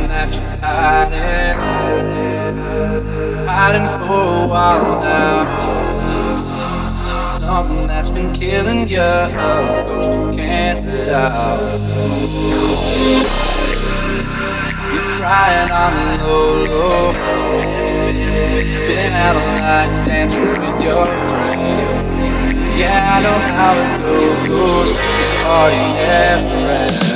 that you're hiding for a while now. Something that's been killing you, a ghost you can't let out. You're crying on the low. Been out all night dancing with your friends. Yeah, I know how it goes. This party never ends.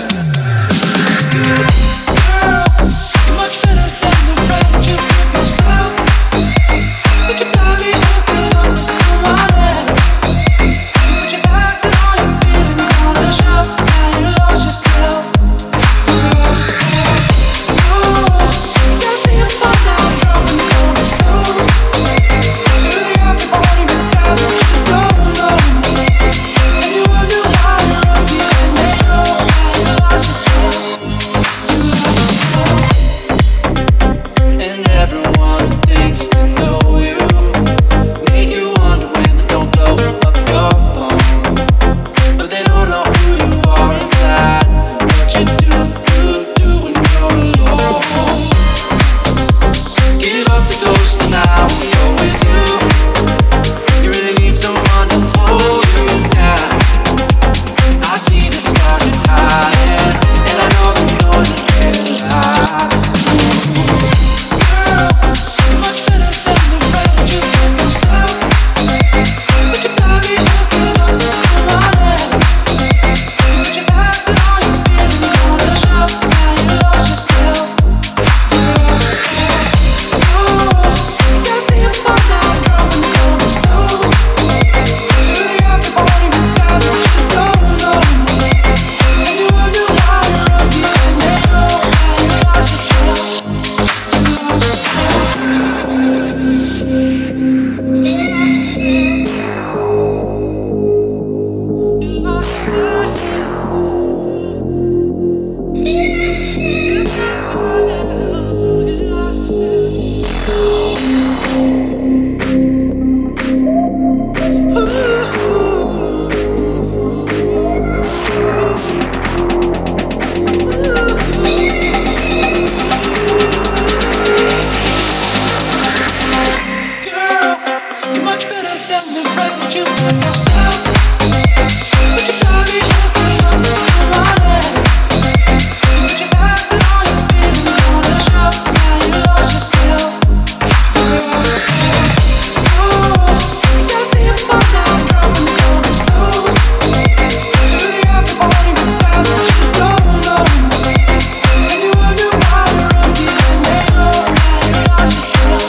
Girl, you're much better than the ride you give yourself. But you're blindly hooking up with someone else. You put your past and all your feelings on the shelf. Now you lost yourself. You gotta stay up all night, dropping all these clothes. To the after party with guys that you don't know. And you wonder why you're up here and they know how you lost yourself. And everyone who thinks they know you make you wonder when they don't blow up your phone. But they don't know who you are inside, what you do when you're alone. Give up the ghost now when you're with you. You really need someone to hold you down. I see the scars you're hiding, and I know the noise is getting loud. You're much better than the ride you give yourself. But you're blindly hooking up with someone else. You put your past and all your feelings on the shelf. Now you lost yourself. You gotta stay up all night, dropping all these clothes. To the after party with guys that you don't know. And you wonder why you're up here and they know how you lost yourself. Girl, you're much better than the ride that you give yourself. But you're blindly hooking up with someone else. You put your past and all your feelings on the shelf. Now you lost yourself. You gotta stay up all night, dropping all these clothes. To the after party with guys that you don't know. And you wonder why you're up here and they know how you lost yourself.